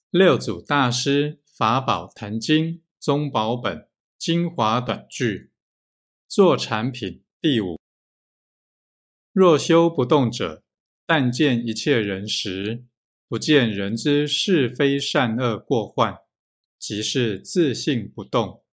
六祖大师法宝坛经宗宝本精华短句作产品第5。若修不动者，但见一切人时，不见人之是非善恶过患，即是自性不动。